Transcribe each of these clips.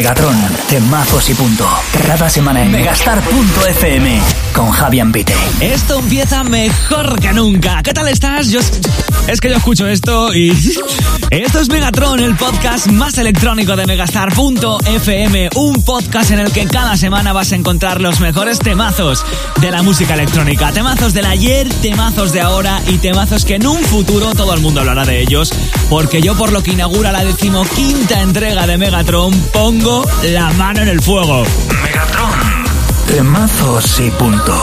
Megatron, temazos y punto. Cada semana en megastar.fm con Javi Ambite. Esto empieza mejor que nunca. ¿Qué tal estás? Es que yo escucho esto y... Esto es Megatron, el podcast más electrónico de megastar.fm. Un podcast en el que cada semana vas a encontrar los mejores temazos de la música electrónica. Temazos del ayer, temazos de ahora y temazos que en un futuro todo el mundo hablará de ellos. Porque yo, por lo que inaugura la 15ª entrega de Megatron, pongo la mano en el fuego. Megatron, temazos y punto.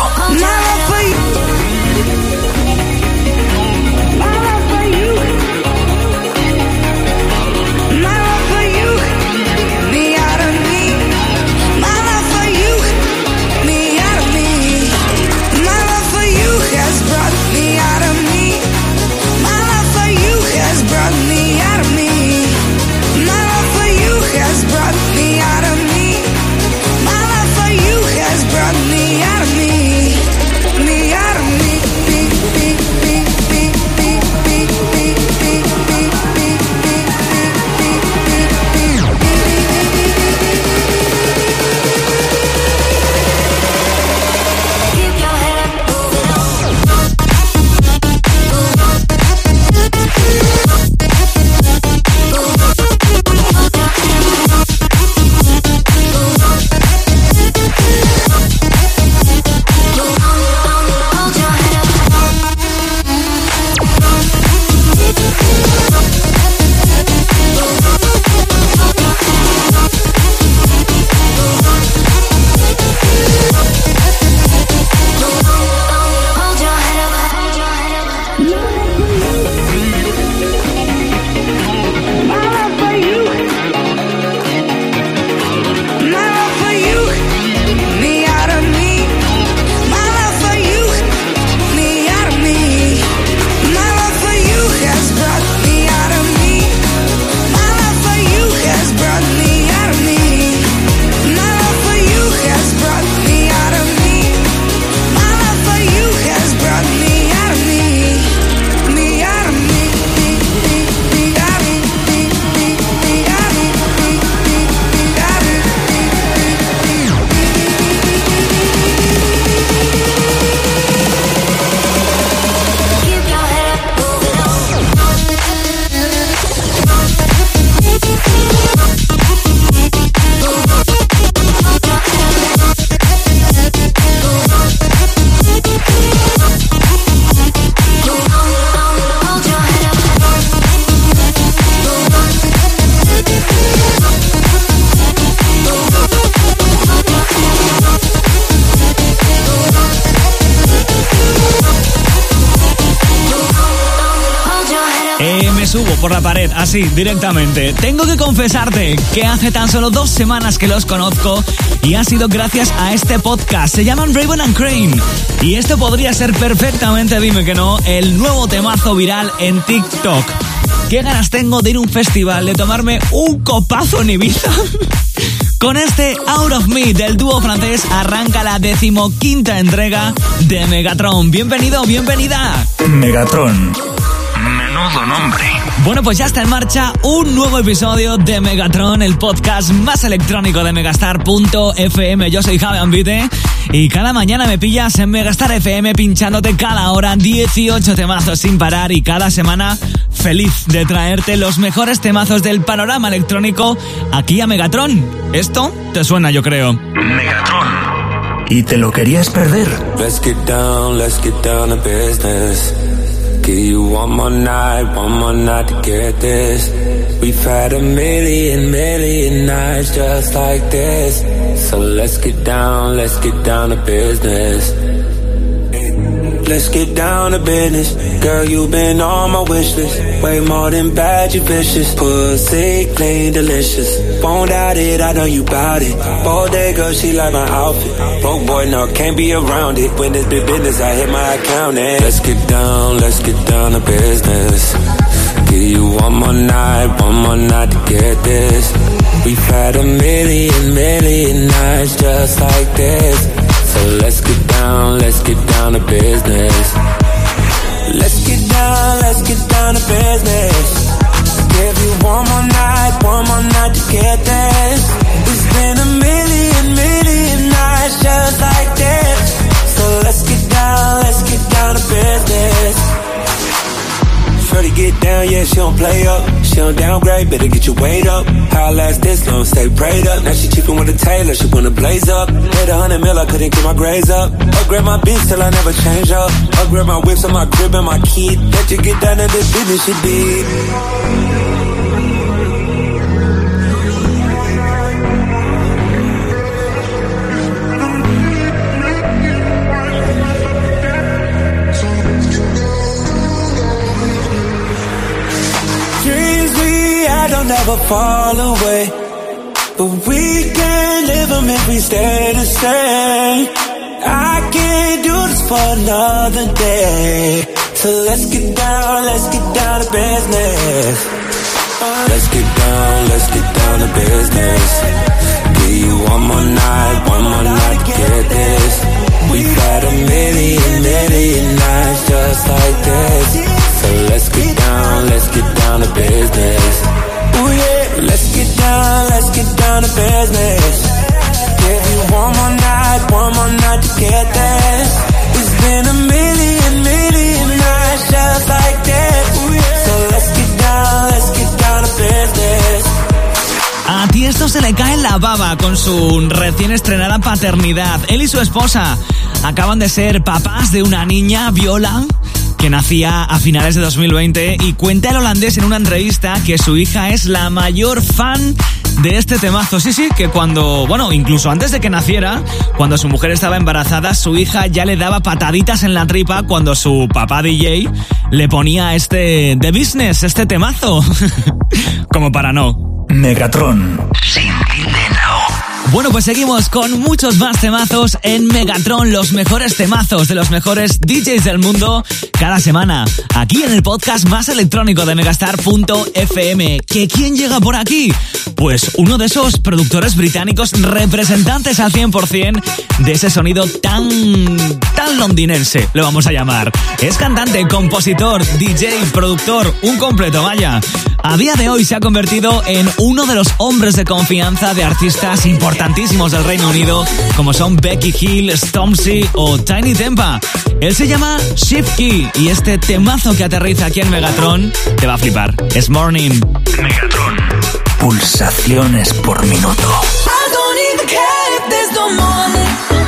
Subo por la pared, así, directamente. Tengo que confesarte que hace tan solo 2 semanas que los conozco y ha sido gracias a este podcast. Se llaman Raven and Crane y esto podría ser perfectamente, dime que no, el nuevo temazo viral en TikTok. ¿Qué ganas tengo de ir a un festival, de tomarme un copazo en Ibiza? Con este Out of Me del dúo francés arranca la 15ª entrega de Megatron. Bienvenido, bienvenida. Megatron. Menudo nombre. Bueno, pues ya está en marcha un nuevo episodio de Megatron, el podcast más electrónico de megastar.fm. Yo soy Javi Ambite y cada mañana me pillas en Megastar FM pinchándote cada hora 18 temazos sin parar y cada semana feliz de traerte los mejores temazos del panorama electrónico aquí a Megatron. Esto te suena, yo creo. Megatron. ¿Y te lo querías perder? Let's get down to business. Give you one more night to get this. We've had a million nights just like this. So let's get down to business. Let's get down to business. Girl, you've been on my wish list. Way more than bad, you vicious. Pussy clean, delicious. Won't doubt it, I know you bout it. Bodega, she like my outfit. Broke boy, no, can't be around it. When it's big business, I hit my account and let's get down to business. Give you one more night to get this. We've had a million nights just like this. So let's get down to business. Let's get down to business. Give you one more night to get this. We yeah, she don't play up. She don't downgrade, better get your weight up. How I last this long, stay prayed up. Now she cheapin' with a tailor, she wanna blaze up. Made 100 mil, I couldn't get my grades up. Upgrade my bitch till I never change up. Upgrade my whips on my crib and my kid. Let you get down to the business you did. Don't never fall away, but we can live them if we stay the same. I can't do this for another day, so let's get down to business. Let's get down to business. Give you one more night to get this. We've had a million nights just like this, so let's get down to business. Ooh yeah, let's get down to business. Give you one more night to get this. It's been a million nights just like this. Ooh yeah. So let's get down to business. A Tiesto se le cae la baba con su recién estrenada paternidad. Él y su esposa acaban de ser papás de una niña, Viola, que nacía a finales de 2020, y cuenta el holandés en una entrevista que su hija es la mayor fan de este temazo. Sí, que cuando, incluso antes de que naciera, cuando su mujer estaba embarazada, su hija ya le daba pataditas en la tripa cuando su papá DJ le ponía The Business, este temazo. Como para no. Megatron. Sin dinero. Bueno, pues seguimos con muchos más temazos en Megatron, los mejores temazos de los mejores DJs del mundo cada semana, aquí en el podcast más electrónico de Megastar.fm. ¿Que quién llega por aquí? Pues uno de esos productores británicos representantes al 100% de ese sonido tan londinense, lo vamos a llamar. Es cantante, compositor, DJ, productor, un completo, vaya. A día de hoy se ha convertido en uno de los hombres de confianza de artistas importantísimos del Reino Unido, como son Becky Hill, Stormzy o Tiny Tempa. Él se llama Shift Key y este temazo que aterriza aquí en Megatron te va a flipar. Es Morning. Megatron. Pulsaciones por minuto. I don't even care if there's no morning.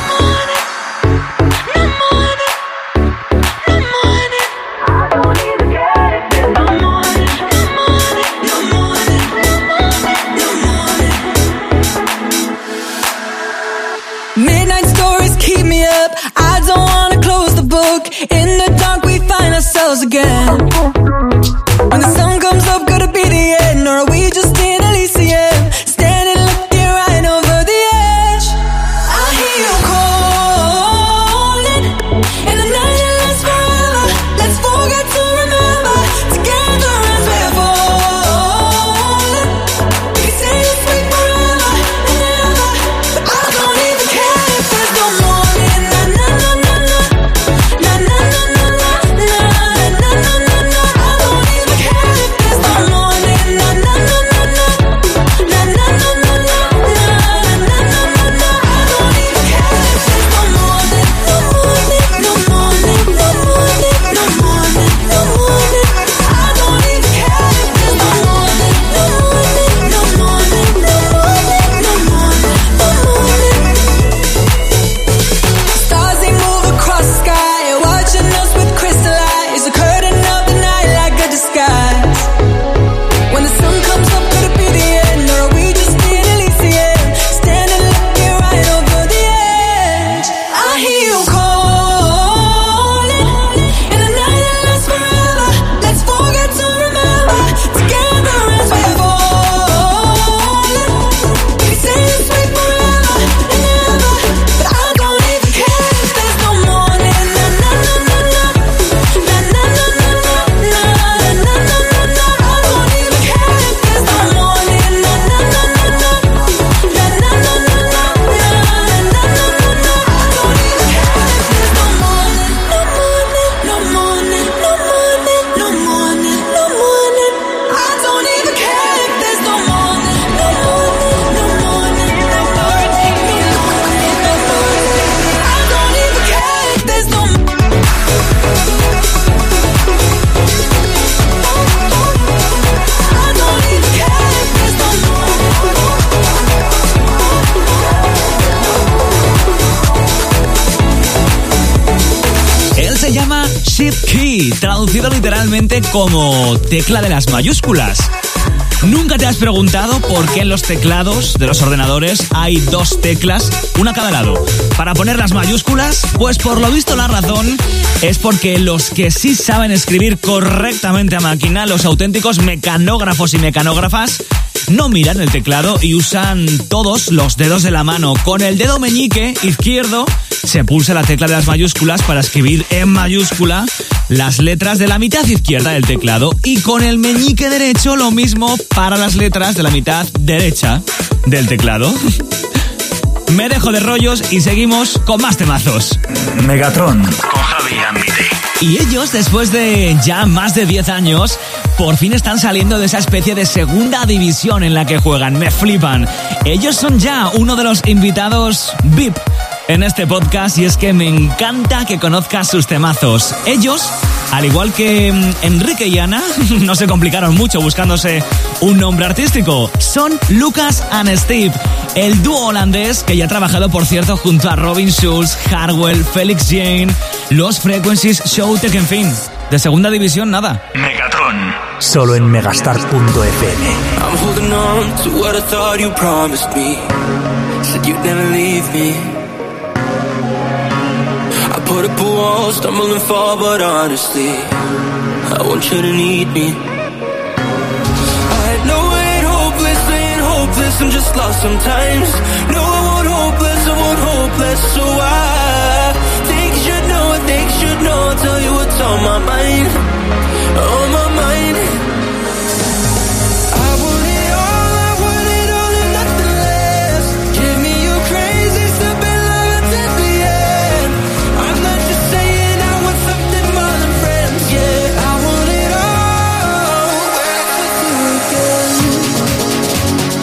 Midnight stories keep me up. I don't wanna close the book. In the dark we find ourselves again. When the sun comes up, could it be the end? Or are we just in Elysium? Standing looking right over the edge. I hear you calling. In the night it lasts forever. Let's forget to remember. Together as we're falling. We can say this way forever and ever. But I don't even care if there's no morning. Na na na na na. Na na na na na. Na na na na na. I don't even care if Key, traducido literalmente como tecla de las mayúsculas. ¿Nunca te has preguntado por qué en los teclados de los ordenadores hay dos teclas, una a cada lado, para poner las mayúsculas? Pues por lo visto la razón es porque los que sí saben escribir correctamente a máquina, los auténticos mecanógrafos y mecanógrafas, no miran el teclado y usan todos los dedos de la mano. Con el dedo meñique izquierdo se pulsa la tecla de las mayúsculas para escribir en mayúscula las letras de la mitad izquierda del teclado, y con el meñique derecho lo mismo para las letras de la mitad derecha del teclado. Me dejo de rollos y seguimos con más temazos. Megatron con Javi Ambite. Y ellos, después de ya más de 10 años, por fin están saliendo de esa especie de segunda división en la que juegan. Me flipan. Ellos son ya uno de los invitados VIP en este podcast, y es que me encanta que conozcas sus temazos. Ellos, al igual que Enrique y Ana, no se complicaron mucho buscándose un nombre artístico. Son Lucas and Steve, el dúo holandés que ya ha trabajado, por cierto, junto a Robin Schulz, Hardwell, Felix Jane, Los Frequencies, Showtek, en fin. De segunda división, nada. Megatron, solo en megastar.fm. I'm holding on to what I thought you promised me. Said you'd never leave me. I put up a wall, stumble and fall, but honestly, I want you to need me. I know I ain't hopeless, I'm just lost sometimes. No, I won't hopeless, so I think you should know, I'll tell you what's on my mind, on my mind. I want it all and nothing less. Give me your crazy stuff and love until the end. I'm not just saying I want something more than friends, yeah. I want it all, with you again.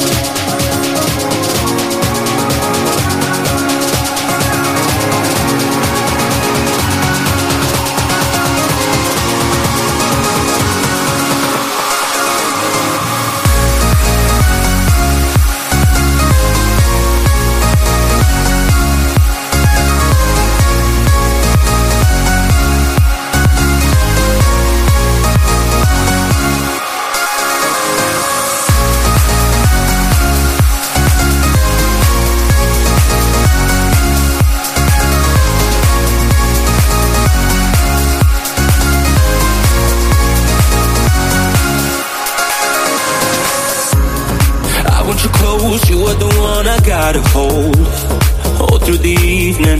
You were the one I gotta hold through the evening.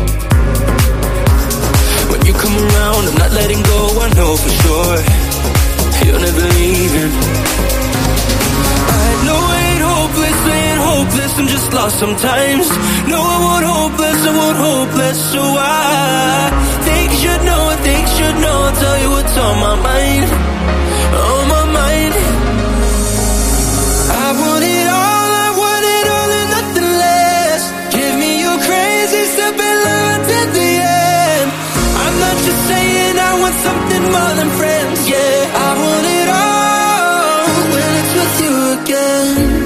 When you come around, I'm not letting go, I know for sure you're never leaving. I know I ain't hopeless, I'm just lost sometimes. No, I won't hopeless, so I think you should know, I'll tell you what's on my mind, on my mind. I want it all. Saying I want something more than friends, yeah. I want it all when it's with you again.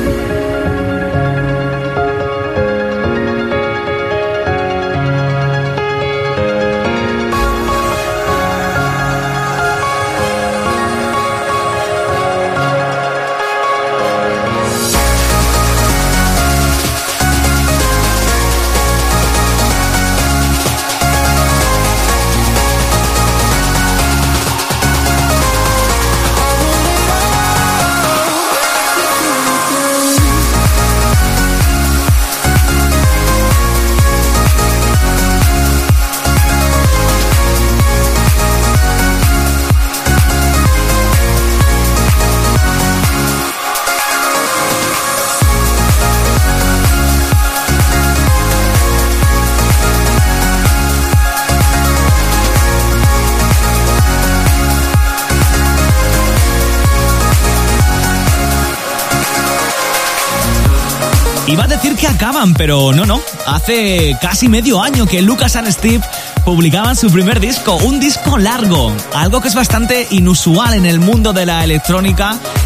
Iba a decir que acaban, pero no. Hace casi medio año que Lucas and Steve publicaban su primer disco, un disco largo, algo que es bastante inusual en el mundo de la electrónica,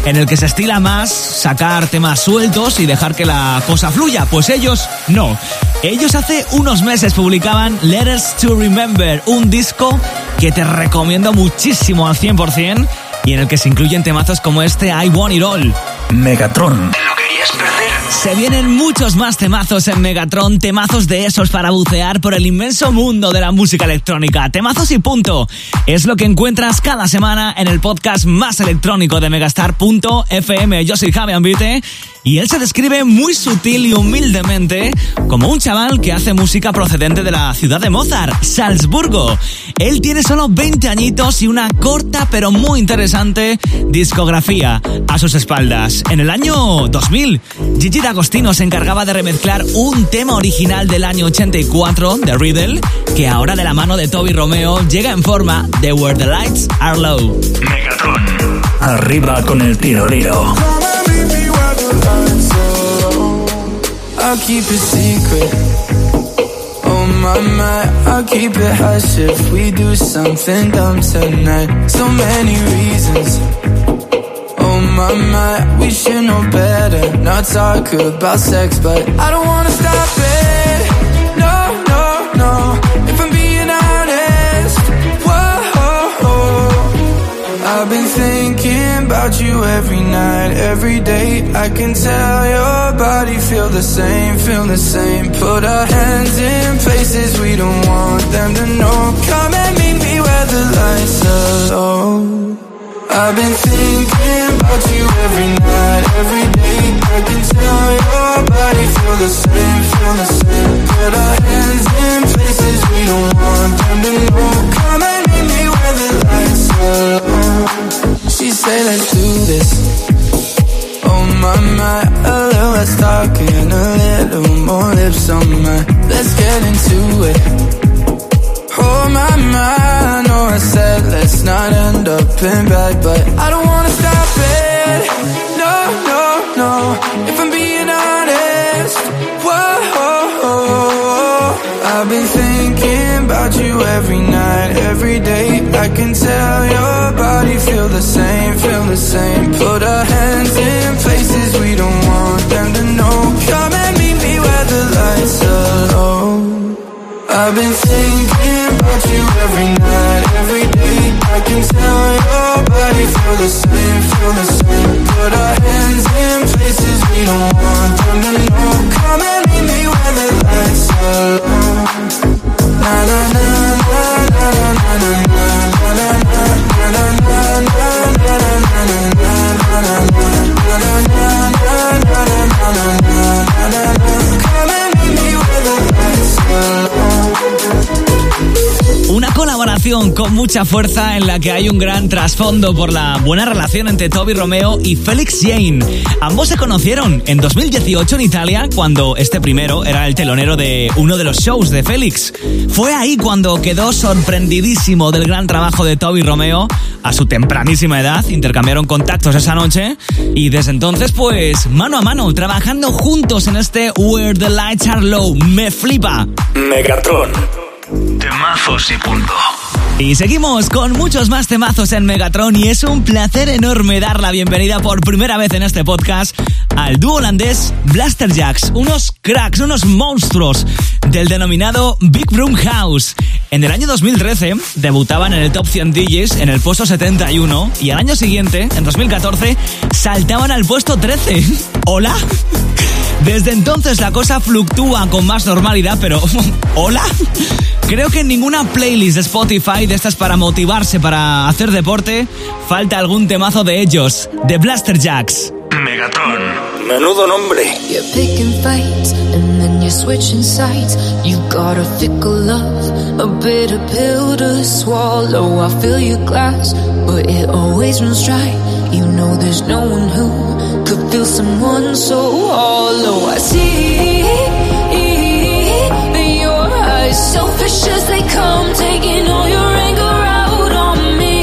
en el que se estila más sacar temas sueltos y dejar que la cosa fluya. Pues ellos no. Ellos hace unos meses publicaban Letters to Remember, un disco que te recomiendo muchísimo al 100% y en el que se incluyen temazos como este I Want It All. Megatron. ¿Te lo querías perder? Se vienen muchos más temazos en Megatron, temazos de esos para bucear por el inmenso mundo de la música electrónica. Temazos y punto. Es lo que encuentras cada semana en el podcast más electrónico de Megastar.fm. Yo soy Javi Ambite y él se describe muy sutil y humildemente como un chaval que hace música procedente de la ciudad de Mozart, Salzburgo. Él tiene solo 20 añitos y una corta pero muy interesante discografía a sus espaldas. En el año 2000, Gigi D'Agostino se encargaba de remezclar un tema original del año 84 de Riddle, que ahora de la mano de Toby Romeo llega en forma de Where the Lights Are Low. Megatron. Arriba con el tirolero. I'll keep it secret. Oh my, I'll keep it hush if we do something dumb tonight. So many reasons. Oh my, we should know better. Not talk about sex, but I don't wanna stop it. No, no, no. If I'm being honest, whoa. I've been thinking about you every night, every day. I can tell your body feel the same, feel the same. Put our hands in places we don't want them to know. Come and meet me where the lights are low. I've been thinking about you every night, every day. I can tell your body feel the same, feel the same. Put our hands in places we don't want them to know. Come and meet me where the lights are low. She say let's do this. Oh my, a little less talking, a little more lips on mine. Let's get into it. Oh my, I know I said let's not end up in bed, but I don't wanna stop it. No, no, no. If I'm being honest, whoa. I've been thinking about you every night, every day. I can tell your body feel the same, feel the same. Put our hands in places we don't want them to know. Come and meet me where the lights are low. I've been thinking about you every night, every day. I can tell your body feel the same, feel the same. Put our hands in places we don't want them to know. Come and meet me where the lights are low. Na na na na na na na na na na na. Come and meet me where the lights are low. Una colaboración con mucha fuerza en la que hay un gran trasfondo por la buena relación entre Toby Romeo y Felix Jaehn. Ambos se conocieron en 2018 en Italia, cuando este primero era el telonero de uno de los shows de Felix. Fue ahí cuando quedó sorprendidísimo del gran trabajo de Toby Romeo. A su tempranísima edad intercambiaron contactos esa noche y desde entonces pues mano a mano trabajando juntos en este Where the Lights Are Low. Me flipa. Megatron. Temazos y punto. Y seguimos con muchos más temazos en Megatron y es un placer enorme dar la bienvenida por primera vez en este podcast al dúo holandés Blasterjaxx, unos cracks, unos monstruos del denominado Big Room House. En el año 2013 debutaban en el Top 100 DJs en el puesto 71 y al año siguiente, en 2014, saltaban al puesto 13. ¿Hola? Desde entonces la cosa fluctúa con más normalidad, pero ¿hola? Creo que en ninguna playlist de Spotify de estas para motivarse, para hacer deporte, falta algún temazo de ellos, de Blasterjaxx. Megatron. Menudo nombre. You're picking fights and then you're switching sides. You got a fickle love, a bitter pill to swallow. I fill your glass, but it always runs dry. You know there's no one who could feel someone so hollow. I see your eyes, selfish as they come, taking all your anger out on me.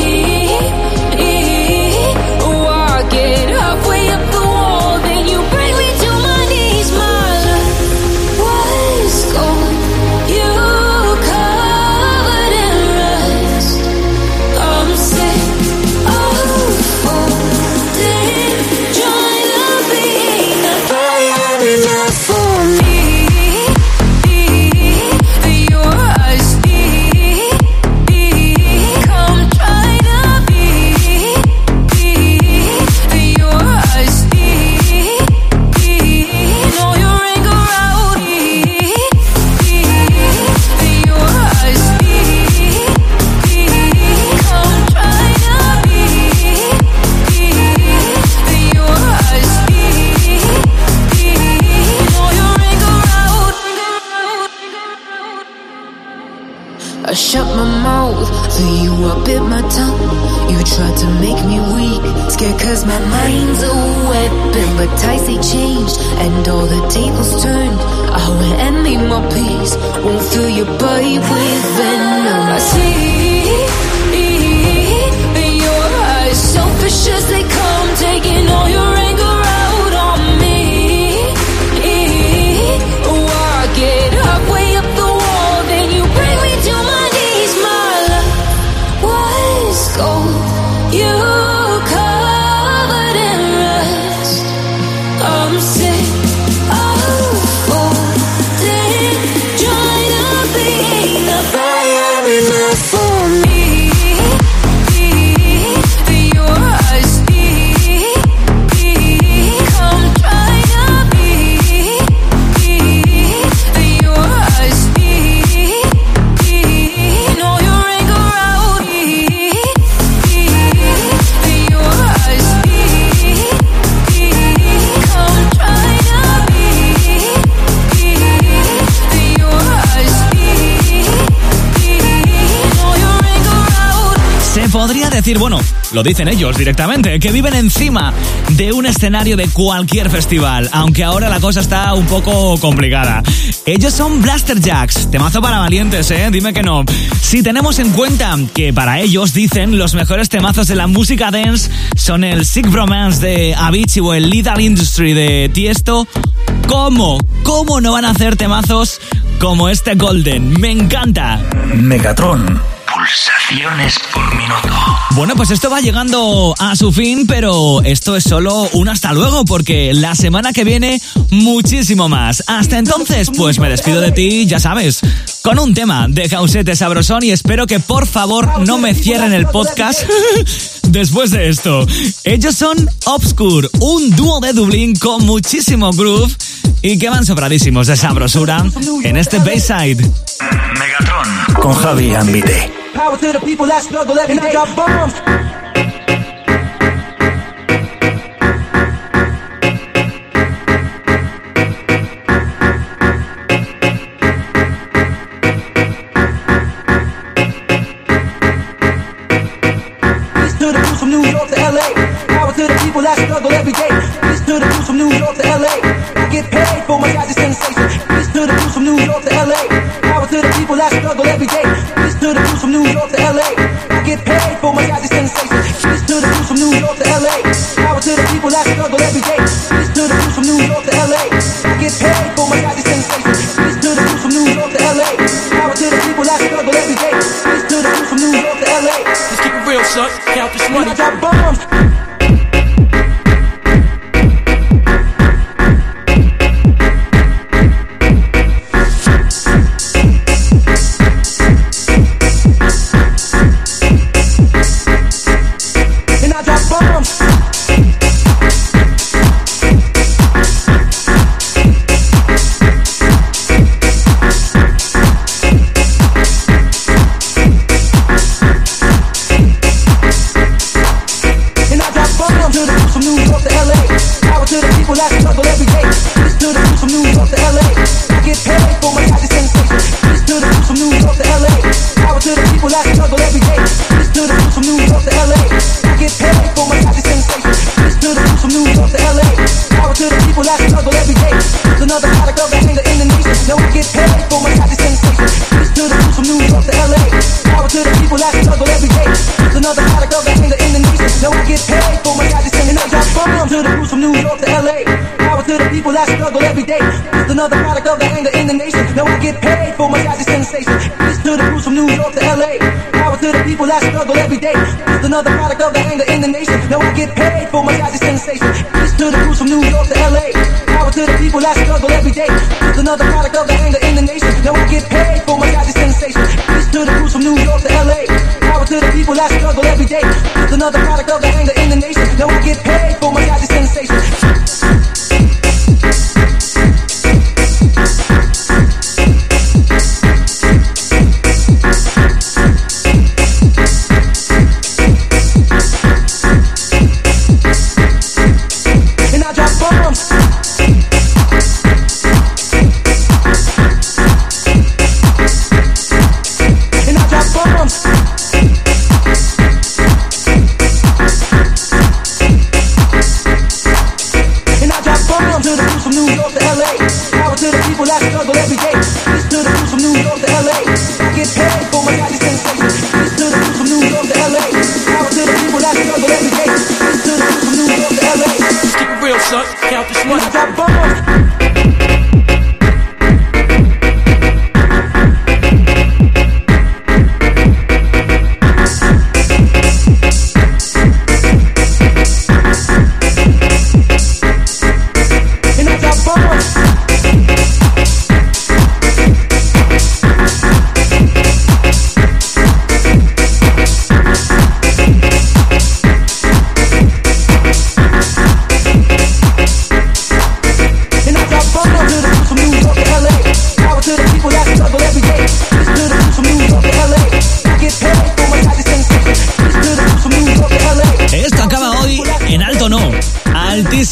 Oh, I get halfway up the wall, then you bring me to my knees. My love was gold, you covered in rust. I'm sick of holding my mouth. For you I bit my tongue. You tried to make me weak, scared cause my mind's a weapon. But tides they changed and all the tables turned. I went and made my peace, won't fill your body with venom. I see in your eyes, selfish as they come, taking all your anger out on me. Oh, I get halfway up the wall, then you bring me to my knees. My love was gold, you covered in rust. I'm sick of folding, trying to be enough. Enough for me. Your eyes, come try to be. Your eyes, know your anger out. Your eyes, come try to be. Your eyes, know your anger out. Se podría decir, bueno, lo dicen ellos directamente, que viven encima de un escenario de cualquier festival, aunque ahora la cosa está un poco complicada. Ellos son Blasterjaxx, temazo para valientes, dime que no. Si tenemos en cuenta que para ellos, dicen, los mejores temazos de la música dance son el Sick Bromance de Avicii o el Lethal Industry de Tiesto, ¿cómo no van a hacer temazos como este Golden? Me encanta. Megatron. Pulsaciones por minuto. Bueno, pues esto va llegando a su fin, pero esto es solo un hasta luego, porque la semana que viene muchísimo más. Hasta entonces, pues me despido de ti, ya sabes, con un tema de Jauset Sabrosón, y espero que por favor no me cierren el podcast después de esto. Ellos son Obscure, un dúo de Dublín con muchísimo groove y que van sobradísimos de sabrosura en este Bayside. Megatron con Javi Ambite. Power to the people that struggle every day. Drop bombs. Peace to the crews from New York to LA. Power to the people that struggle every day. Peace to the crews from New York to LA. I get paid for my gadget sensation. Peace to the crews from New York to LA. Power to the people that struggle every day. Peace to the crews from New York to LA. I get paid for my gadget sensation. Peace to the crews from New York to LA. Power to the people that struggle every day. Peace to the crews from New York to LA. I get paid for my gadget sensation. Peace to the crews from New York to LA. Power to the people that struggle every day. Peace to the crews from New York to LA. Let's keep it real, son. Count this money. I drop bombs. Another product of the anger in the nation. Now I get paid for my gadget sensation. Peace to the crews from New York to LA. Power to the people that struggle every day. It's another product of the anger in the nation. Now I get paid for my gadget sensation. Peace to the crews from New York to LA. Power to the people that struggle every day. It's another product of the anger in the nation. Now I get paid for my gadget sensation. Peace to the crews from New York to LA. Power to the people that struggle every day. It's another product of the anger in the nation. Now I get paid for my gadget sensation. And I drop bombs.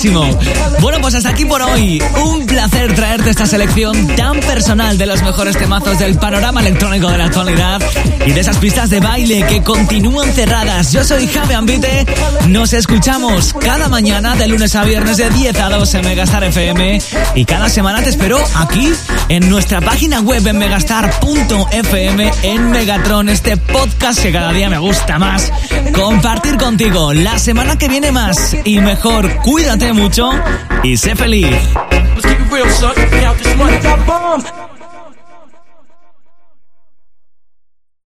máximo. Bueno, pues hasta aquí por hoy. Un placer traerte esta selección tan personal de los mejores temazos del panorama electrónico de la actualidad y de esas pistas de baile que continúan cerradas. Yo soy Javi Ambite. Nos escuchamos cada mañana de lunes a viernes de 10 a 2 en Megastar FM y cada semana te espero aquí en nuestra página web en megastar.fm en Megatron, este podcast que cada día me gusta más compartir contigo. La semana que viene más y mejor. Cuídate mucho y sé feliz. Let's keep it real, son. Count this money.